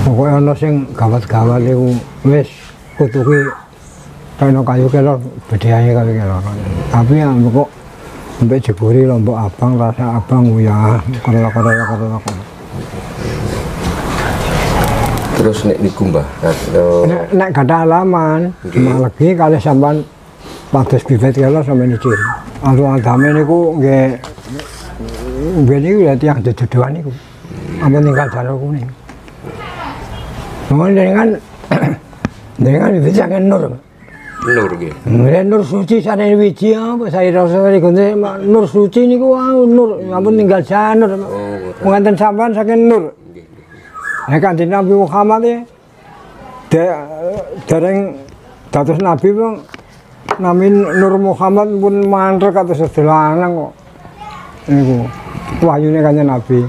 Pokoke ana sing gawat-gawat iku wis kudu kuwi kena kayu kelor bedheane kayu kelor. Tapi kok mbek jeburi lombok abang rasa abang ya kerok. Terus nek niku Mbah, nek gadah alaman, lagi kalih sampean pados bibit kelor sampeyan iki. Adame niku nggih niku ya tiyang dedodoan niku. Ampun tinggal jalur kuning. Dengan bisa nur. Nur nggih. Nur suci sane wiji apa saya rasa gonte nur suci niku nur ampun tinggal janur. Wonten sampean saking nur. Nek Kanjeng Nabi Muhammad dereng dados nabi wong nami Nur Muhammad pun mantel kados sedelanang kok. Niku wahyune Kanjeng Nabi.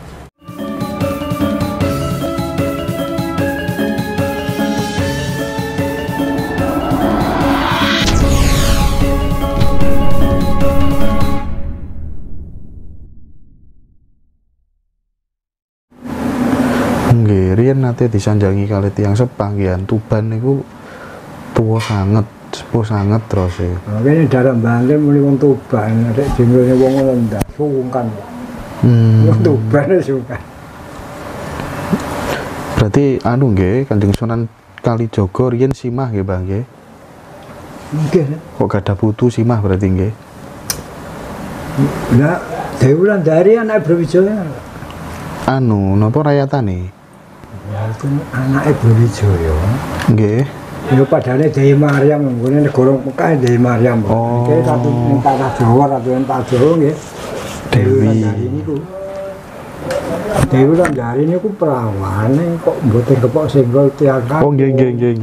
Riyen nate disanjangi kali tiyang sepanggihan Tuban niku tuwa sanget, sepuh sanget terus e. Kene daerah Banten muni wong Tuban, nek jenenge wong ngono ndak sungkan. Wong Tuban sungkan. Berarti anu nggih Kanjeng Sunan Kalijaga riyen simah nggih, Mbah nggih. Nggih. Kok gadah putu simah berarti nggih. Lah, Dewi Wulandari anak Brawijaya. Anu, napa rayatane? Ya itu anake Brawijaya. Nggih. Ya padane Dewi Maryam nggone negara Mekah Dewi Maryam. Oh. Iki satu ning tanah Jawa, satu ning tanah Jawa nggih. Dewi Wulandari niku. Dewi Wulandari niku perawane kok mboten kepok senggol tiang. Oh nggih.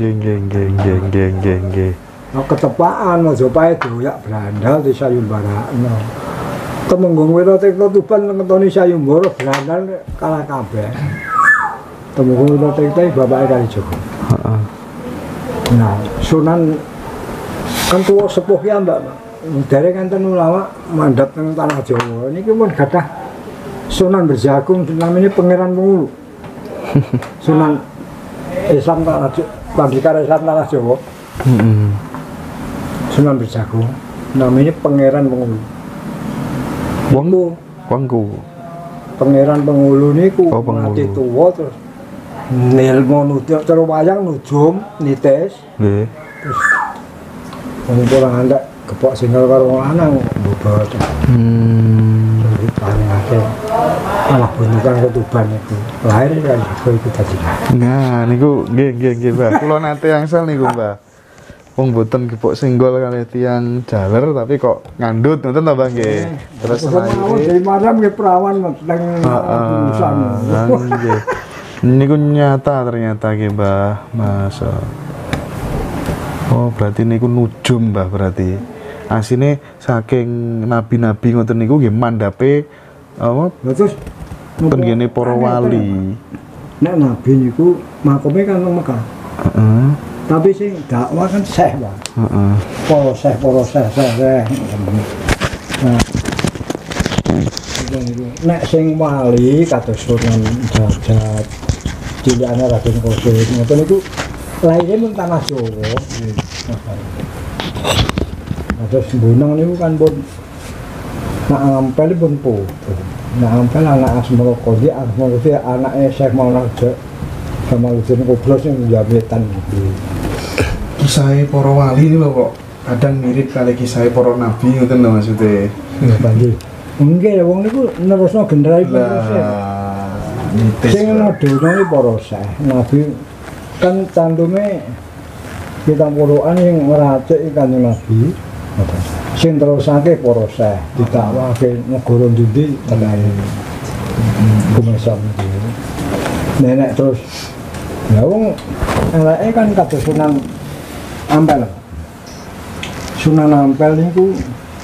Nah, ketepaan Majapahit doyak Brandal di Sayembarakno. Temenggung Wira Tirta Tuban ngetoni Sayembara Brandal kalah kabeh. Temenggung Wira Tirta bapake Kalijaga. Heeh. Nah, Sunan kan tuwa sepuh ya Mbak. Dereng enten ulama mandhap teng tanah Jawa. Niki pun gadah Sunan Berjagung namanya Pangeran Pengulu. Sunan Islam tanah Pandhika Islam tanah Jawa. Sunan Berjagung namanya Pangeran Pengulu. Wangku. Pangeran Pengulu niku mati tuwa terus nilmu nuju terus wayang nujum nitis. Nggih. Terus ngumpul ngantek kepok single karo wong lanang mbobot. Jadi paling akeh malah bentukan ketuban itu. Lahir kan iku dadi. Nah, niku nggih, Mbah. Kula nate angsal niku, Mbah. Wong mboten kepok senggol kali tiyang jaler tapi kok ngandut ngoten ta, Mbah nggih. Terus dari malam nggih perawan teng urusan. Nggih. Niku nyata ternyata nggih, Mbah. Masa. Oh, berarti niku nujum, Mbah, berarti. Asine saking nabi-nabi ngoten niku nggih mandhape apa? Terus tenggene para wali. Nek nabi niku makome kan nang Mekah. Heeh. Tapi sing dakwah kan syekh, Pak. Heeh. Para syekh. Nah. Nek sing wali kados Sunan Derajat, cilikane Raden Kosim, ngoten niku lahirnya pun tanah Jawa. Terus Bunang niku kan pun nak Ampel pun putu. Nak Ampel anak Asmara Qodhi, anake Syekh Maulana Jamaluddin Kubros yang jabetan iki. Kisah para wali ini lho kok kadang mirip kali kisah para nabi ngoten lho maksudnya. Ya panggil. Nggih wong niku nerusno generasi proses. Sing ana donya iki para syekh. Nabi kan cantume kita puluhan yang meracik Kanjeng Nabi. Sing terusake para syekh didakwahke negara ndi tenan. Kumesan iki. Nenek terus ya wong eleke kan kados Sunan Ampel. Sunan Ampel niku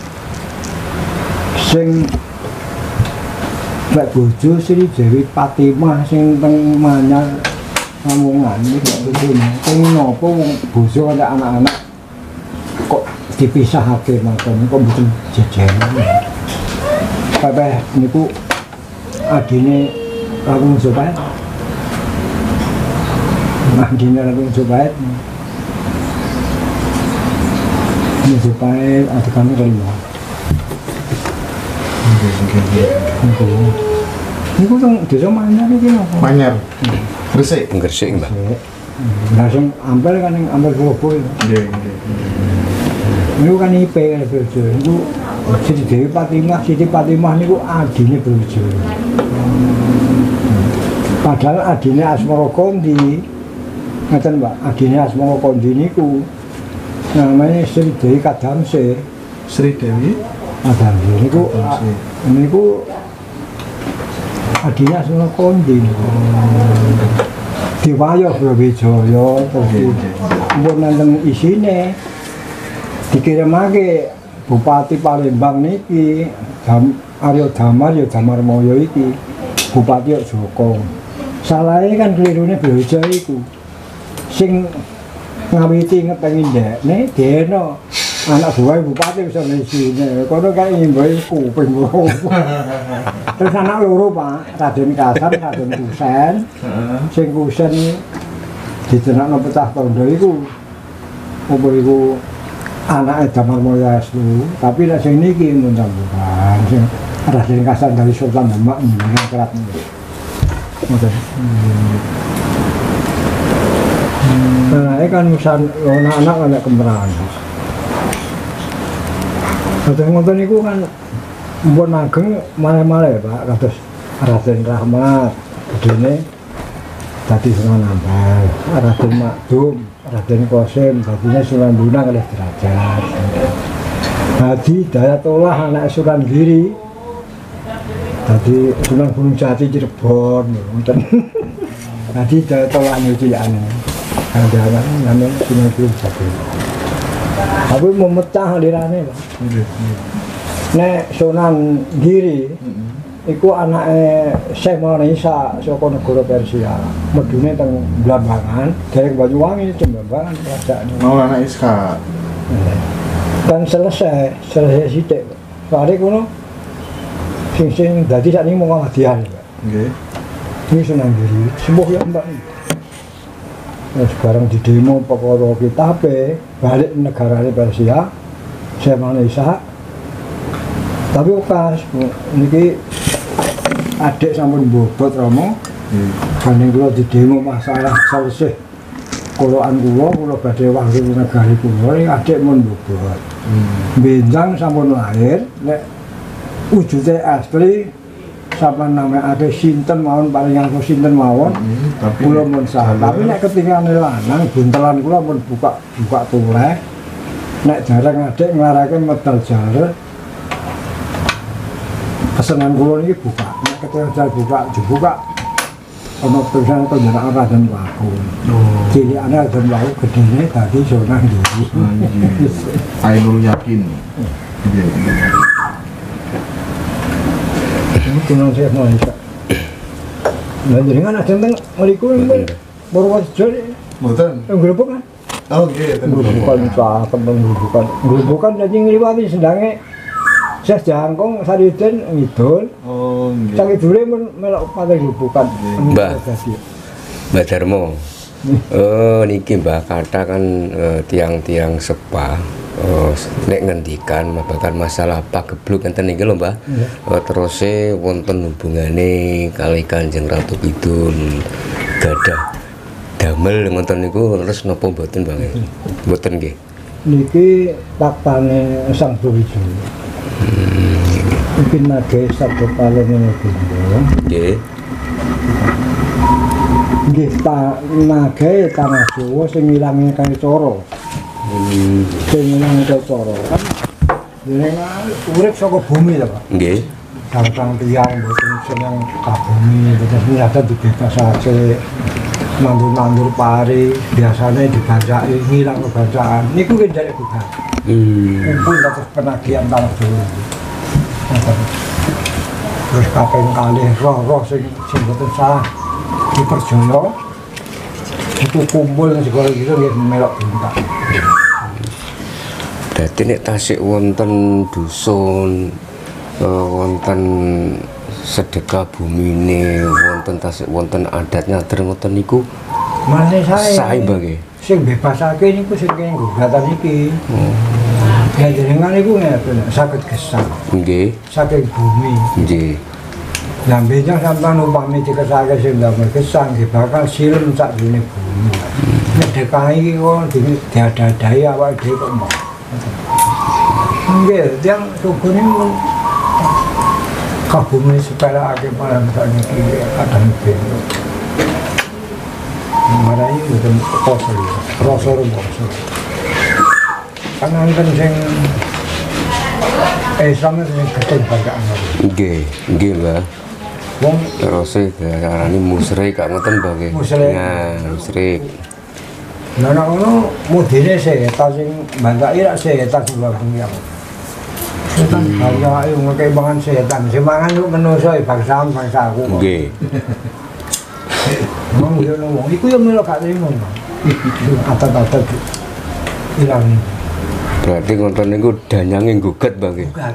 sing lek bojo Sri Dewi Fatimah sing teng Manyar Lamongan niku bojone. Sing napa wong bojo karo anak-anak kok dipisahake mangkon kok mboten jejeran. Kabeh niku adine Raden Majapahit. Dina Ratu Majapahit. Majapahit ada kami kelima. Ini kok desa Manyar iki napa? Manyar. Gresik. Gresik, Mbah. Langsung Ampel kan yang Ampel Surabaya. Nggih, nggih. Niku kan IP kan Brojo. Niku Siti Dewi Fatimah niku adine Brojo. Padahal adine Asmara Kondi. Ngeten, Mbak, adine Asmara Kondi niku namanya Sri Dewi Kadamse. Sri Dewi Kadamse niku adine Asmara Kondi niku. Diwayo Brawijaya terus mbok nenten isine dikirimake Bupati Palembang niki Arya Damar ya Damarmaya iki Bupati Joko. Salahe kan klirune Brawijaya iku. Sing ngawiti ngepengin ndekne dene anak buah bupati bisa isine. Kono kae ngimbahi kuping loro. Terus anak loro Pak, Raden Kasan, Raden Kusen. Sing Kusen dijenakno pecah tondo iku. Apa iku anake Damarmaya Aslu, tapi nek sing niki mun bukan sing Raden Kasan dari Sultan Demak ngangkrat. Ngoten. Nah, kan urusan anak-anak kan kemerahan. Ngoten niku kan mbon ageng male-male Pak, kados Raden Rahmat, gedene dadi Sunan Ampel, Raden Makdum, Raden Qasim, dadine Sunan Bonang kalih derajat. Hadi Dayatullah anak Sunan Giri, dadi Sunan Gunung Jati Cirebon, ngoten. Hadi Dayatullah nyuciane. Kandangan namanya Sunan Gunung Jati. Tapi memecah lirane, Pak. Nek Sunan Giri iku anake Syekh Maulana Isa saka negara Persia. Medune teng Blambangan, dereng Banyuwangi Jembangan kerajaan. Maulana Isa. Dan selesai sithik. Soale kono sing dadi sakniki Muhammadiyah. Nggih. Ini Sunan Giri, sembuh ya Mbak. Sekarang di demo perkara kitabe balik negarane Persia, Syekh Maulana Isa. Tapi pas niki adik sampun bobot Romo. Banding kula di demo masalah selesai kolokan kula badhe wangsul negari kula ning adik mun bobot. Benjang sampun lahir nek wujude asli sampean namanya sinten mawon paling aku sinten mawon. Kula mun sah. Tapi nek ketingane lanang buntelan kula mun buka tuleh. Nek jarang adik nglarake medal jare kesenangan kula niki buka. Nek ketinggal dibuka ana tulisan panjenengan Raden Waku. Cilikane Raden Waku gedene dadi Sunan Giri. Ainul Yakin. Nggih. Ini Sunan Syekh Maulana. Lah jenengan ajeng teng mriku Purworejo. Mboten. Ngrubuk kan? Oh nggih, ten Grubukan dadi ngliwati sendange Syekh Jangkung Saridin ngidul. Oh nggih. Sak idule men melok pating grubukan. Mbak Darmo. Oh niki Mbak kata kan tiang-tiang sepa nek ngendikan babagan masalah pagebluk enten niki lho Mbak. Terus wonten hubungane kali Kanjeng Ratu Kidul gadah damel ngoten niku terus napa mboten Bang? Mboten nggih. Niki Taktane Sang Brawijaya. Mungkin nage sabda palengene Bunda. Nggih. Nggih nage tanah Jawa sing ilange kaya cara. Sing ilange kaya cara kan jenengan urip saka bumi lho Pak. Nggih. Kang tiyang mboten seneng ka bumi, terus nyata dibebasake nandur pari, biasanya dibajaki ngilang kebacaan. Niku ki njaluk bukan. Kumpul terus penagihan tanah Jawa. Terus kaping kalih roh sing mboten salah diperjaya itu kumpul segala gitu nggih melok buntak. Dadi nek tasik wonten dusun wonten sedekah bumine wonten tasik wonten adat nyader ngoten niku Masih saya. Sae bagi. Sing bebasake niku sing kene gugatan iki. Ya jenengan niku ngeten saged gesang. Nggih. Saking bumi. Nggih. Lah benjang sampean upami dikesake sing damel gesang bakal silem sak dene bumi. Nek dekahi iki kok diadadahi awake dhewe kok mau. Nggih, yang suku niku kabumi sepelake malah sakniki kadang ben. Marai mboten poso ya. Rasa rumangsa. Panganten sing Islam sing gedhe banggaan. Nggih, nggih, Mbah. Wong Rose diarani musyrik gak ngoten, Mbah nggih. Musyrik. Nah, musyrik. Lah nek ngono mudine setan sing bangkai rak setan sing bangkai. Setan kaya ayo ngekek mangan setan. Sing mangan ku menungso bangsa aku. Nggih. Wong yo wong iku yo melo gak trimo. Atat-atat ilang. Berarti ngoten niku danyange gugat, Mbah nggih. Bukan.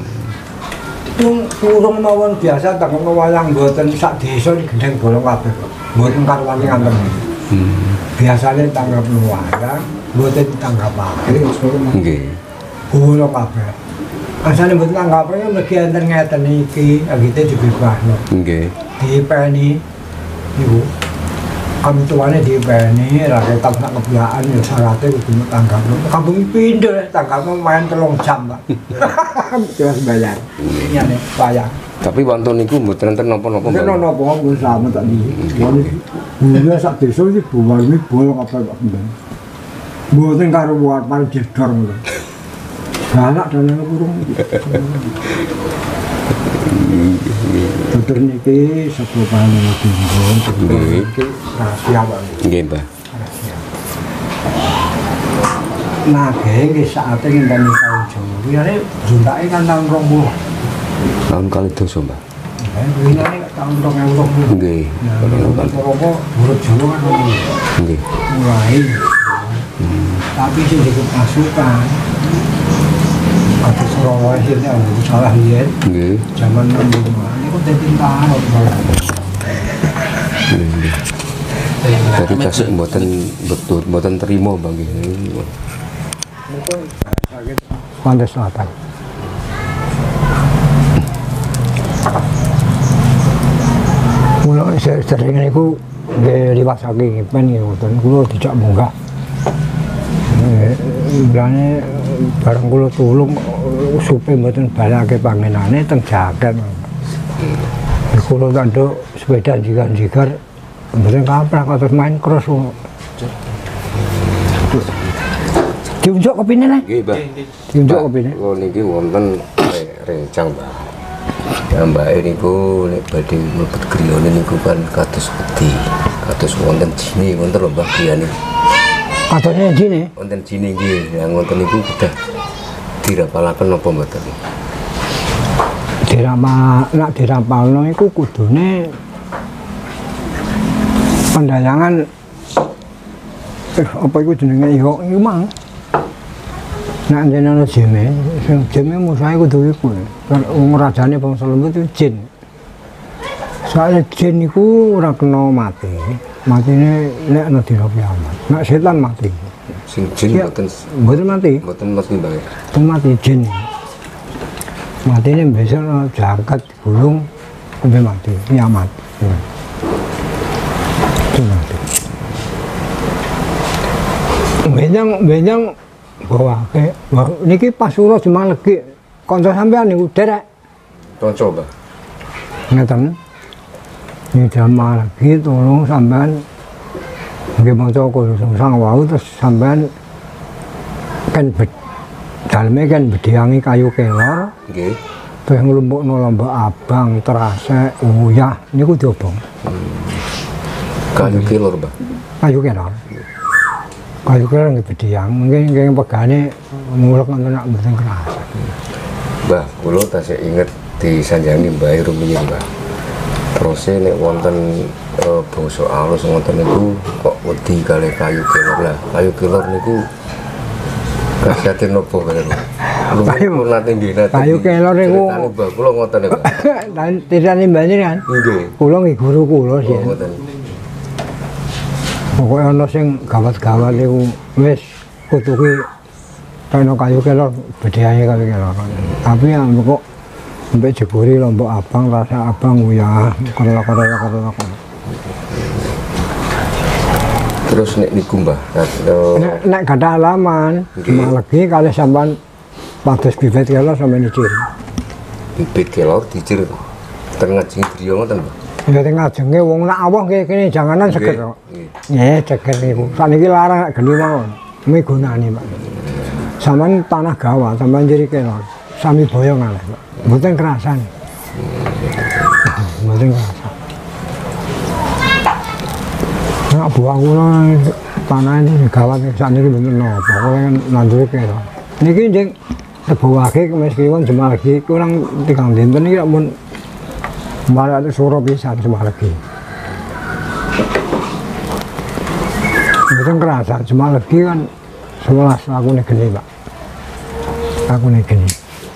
Turung mawon biasa tak ngono wayang mboten sak desa gendeng bolong kabeh. Mboten karwani ngantem. Biasane tanggap wayang, mboten tanggapake. Nggih. Bolong kabeh. Asale mboten tanggapake mesti enten ngeten iki, agite dibebasno. Nggih. Dipeni niku. Kami tuane dipeni ra ketok sak kebiasaan ya syaraté kudu tanggapno. Kampung pindho tanggapno main 3 jam, Pak. Terus bayar. Nyane bayar. Tapi wonten niku mboten enten napa-napa, Nek Mbah. ono apa pun sama tak di. Wong sak desa iki buwani bolong apa kok mben. Mboten karo buat paling jedor ngono. Anak dan yang burung. Tutur niki sapa panjenengan dinggon, tutur niki rahasia banget. Nggih, Mbah. Nah, nggih saate ngenteni taun Jawa. Wiyane juntake kan taun 20. Tahun kali dosa, Mbah. Wiyane taun 2020. Nggih. Apa urut Jawa kan ngono. Nggih. Mulai. Tapi sing dikut pasukan. Atas orang akhirnya salah lihat. Nggih. Zaman dulu ini kok jadi tahu. Jadi tasik mboten terima, Mbah nggih. Pantai Selatan. Mula sering niku diliwasake pen niku kula dijak munggah. Mulane bareng kula tulung supe mboten balake pangenane teng jaket. Kula tanduk sepeda jigar-jigar mboten kaprah terus main cross. Diunjuk kopine le? Nggih, Mbah. Diunjuk kopine. Oh niki wonten rencang, Mbah. Ya Mbak niku nek badhe mlebet griyane niku kan kados wedi. Kados wonten jine wonten lho Mbah griyane. Katone jine. Wonten jine nggih. Ya ngoten niku kedah dirapalaken napa mboten? Nak dirapalno iku kudune pendayangan apa iku jenenge iku mang. Nak jenenge jeme, sing jeme musahe kudu iku. Wong rajane bangsa lembut itu jin. Soale jin iku ora kena mati. Matine nek ana dina kiamat. Nek setan mati. Sing jin mboten mati. Mboten mati, Mbak. Mboten mati jin. Matine besok jangkat gulung sampai mati, kiamat. Itu mati. Benjang bawa ke niki pasura cuma legi kanca sampean niku derek Kanca, Mbah. ngeten ini jamaah lagi tolong sampean nggih maca kula sang wau terus sampean kan daleme kan bediangi kayu kelor Nggih. terus nglumpukno lombok abang terasek uyah niku diobong Kayu kelor, Mbah. kayu kelor nggih bediang mungkin nggih pegane mulek nonton nak mboten keras. Mbah, kula tasih inget disanjangi Mbah rumiyin, Mbah. Terus nek wonten basa alus ngoten niku kok wedi kalih kayu kelor lah. Kayu kelor niku kasate nopo kalian? Lu nate nggih nate. Kayu kelor niku Mbah kula ngoten ya, Mbah. lan tirane mbane kan. Nggih. Kula nggih guru kula sih. Ngoten. Pokoknya ana sing gawat-gawat iku wis kutuki kena kayu kelor bedhae kayu kelor. Tapi yang kok sampai jeburi Lombok Abang, rasa abang ya kerela. Terus nek niku Mbah, nek gada halaman, cuma lagi kali sampean pados bibit kelor sampe nicir. Bibit kelor dicir. Ten ngajeng griya ngoten, Mbah. Ya teng ngajenge wong nak awah kene janganan seger kok. Nggih, seger niku. Saniki larang nek geni mawon. Migunani, Pak. Sampeyan tanah gawat, sampeyan jeri kelor. Sami boyong ae, Pak. Mboten kerasan. Mboten kerasan. Nah, buang kula tanah ini gawat sakniki mboten napa. Kula nandur kelor. Niki njing sebawake meskipun Jemalegi kurang 3 dinten iki mun malah ada suruh pisan Jemalegi. Mboten kerasa Jemalegi kan 11 aku nih geni, Pak. Aku nih geni.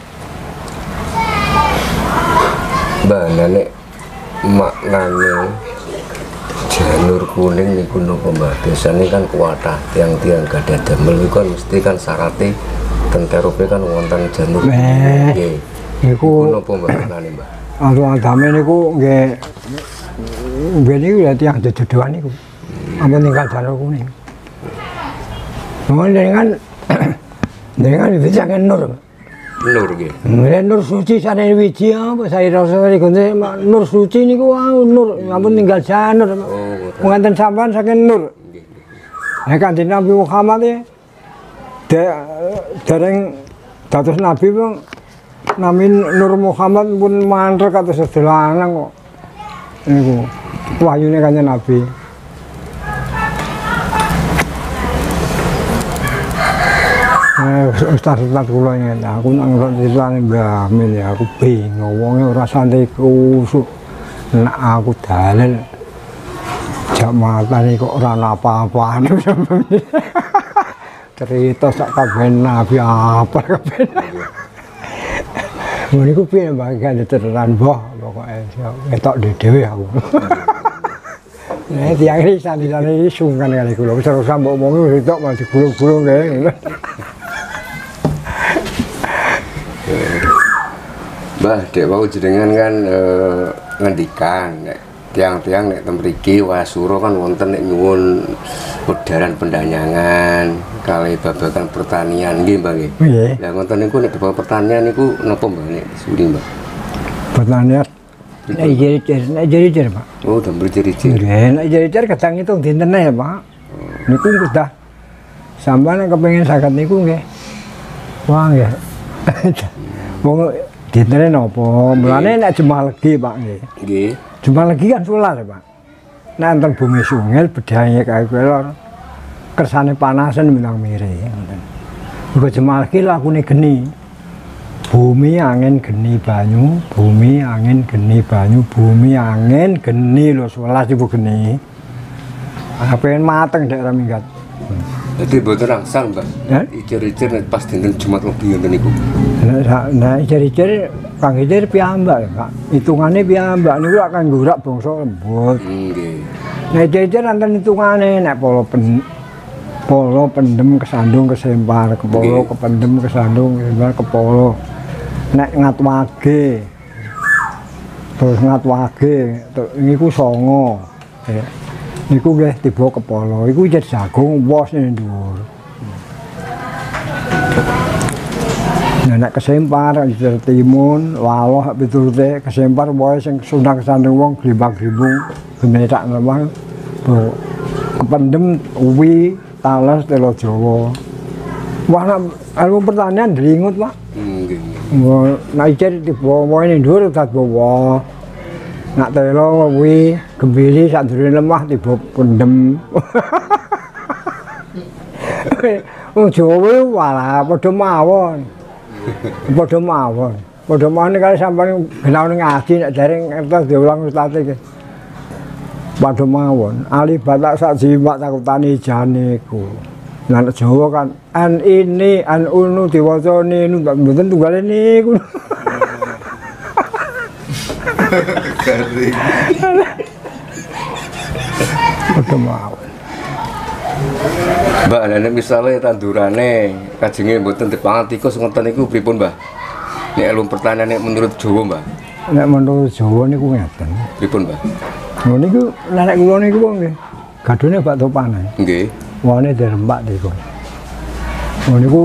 Mbah, nek maknane janur kuning niku napa Mbah? Biasane kan kuatah tiang-tiang gadah damel iku kan mesti kan syaratnya tenterupe kan wonten janur. Nggih. Niku napa Mbah maknane, Mbah? Agame niku nggih niku ya tiang dedodoan niku. Ampun tinggal janur kuning. Mohon dengan bisa nur. Nur nggih. Nur suci sane wiji apa saya rasa gonte nur suci niku nur ampun tinggal janur. Wonten sampean saking nur. Nek Kanjeng Nabi Muhammad dereng dados nabi pun nami Nur Muhammad pun mantrek kados sedelanang kok. Niku wahyune Kanjeng Nabi. Ustaz kula ngene, aku nang ngrasani Mbah Amin ya aku bingung wonge ora santai kusuk. Nek aku dalil jak matane kok ora apa-apane. Cerita sak kabeh nabi apa kabeh. Niku piye Mbah gak teteran boh pokoke ketok dhewe aku. Nek tiyang iki sandi-sandi sungkan kali kula wis ora mbok omongi wis tok mati gulung-gulung kae. Mbah, dek wau jenengan kan ngendikan nek tiang-tiang nek temriki Wasuro kan wonten nek nyuwun wedaran pendanyangan kali babagan pertanian nggih Mbah nggih. Nggih. Lah ngoten niku nek babagan pertanian niku napa Mbah nek suri Mbah? Pertanian nek jeri-jeri Pak. Oh, damel jeri-jeri. Nggih, nek jeri-jeri kadang itu dinten ya Pak. Niku sudah sampeyan kepengin saged niku nggih. Wah nggih. Wong dinten napa? Mulane nek Jemalegi Pak nggih. Nggih. Jemalegi kan sular ya Pak. Nek enten bumi sungil bedhae kae kelor. Kersane panasan bintang mire ngoten. Uga Jemalegi lakune geni. Bumi angin geni banyu, bumi angin geni banyu, bumi angin geni lho 11 ibu geni. Pengen mateng daerah minggat. Jadi mboten rangsang, Mbak. Ijer-ijer nek pas dinten Jumat Legi ngoten niku. Nah, ijer-ijer Kang Ijer piyambak, Pak. Hitungane piyambak niku akan nggurak bangsa lembut. Nggih. Nek ijer nanten hitungane nek polo pendem kesandung kesempar, kepolo kependem kesandung kesempar kepolo. Nek ngatwage. Terus ngatwage, niku songo. Niku nggih tiba kepala, iku ijet jagung wos ning dhuwur. Nek kesempar ijet timun, waloh piturute kesempar wae sing sundang kesandung wong grimbang-grimbung gemetak lemah. Kependem uwi talas telo Jawa. Wah nek ilmu pertanian dringut, Pak. Nggih. Nek ijet tiba wae ning dhuwur dadi bawa. Nak telo kuwi gembili sak durung lemah tiba pendem. Wong Jawa walah padha mawon. Padha mawon. Padha mawon kali sampeyan genaune ngaji nek dereng ngertos diulang ustate iki. Padha mawon. Ali batak sak jimat takutane jane iku. Lah nek Jawa kan an ini an unu diwaca ninu mboten tunggale niku. Garing. Padha mawon. Mbak, nek misale tandurane kajenge mboten dipangan tikus ngoten niku pripun, Mbah? Nek ilmu pertanian nek menurut Jawa, Mbah. Nek menurut Jawa niku ngeten. Pripun, Mbah? Lho niku nenek kula niku nggih. Gadone bakto panen. Nggih. Wane dirembak niku. Lho niku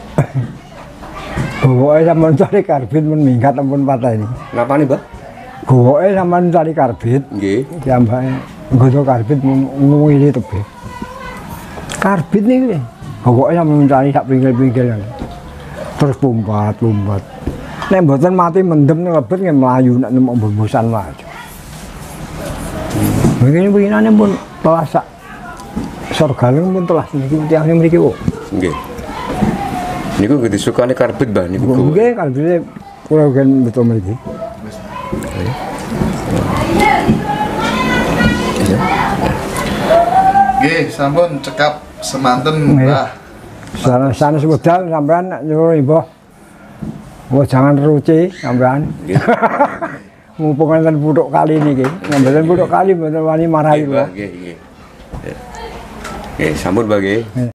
gowoke sampean cari karbit men minggat ampun pateni. Napa nih, Mbah? Gowoke sampean cari karbit. Nggih. Jambake nggodho karbit ngwili tebe. Karbit niku gowoke sampean cari sak pinggir-pinggir. Terus lumpat. Nek mboten mati mendem lebet nggih mlayu nek nemu bosan wae. Begini-beginane pun telah sak sorgaleng pun telah niki tiyang mriki kok. Nggih. Niku nggih disukani karbit, Mbah niku. Nggih, karbite kula gen beto mriki. Nggih, sampun cekap semanten, Mbah. Sanes wedal sampean nek nyuruh Mbah. Oh, jangan ruci sampean. Nggih. Mumpung enten puthuk kali niki. Mboten puthuk kali mboten wani marahi kula. Nggih, nggih. Nggih, sampun, Mbah nggih.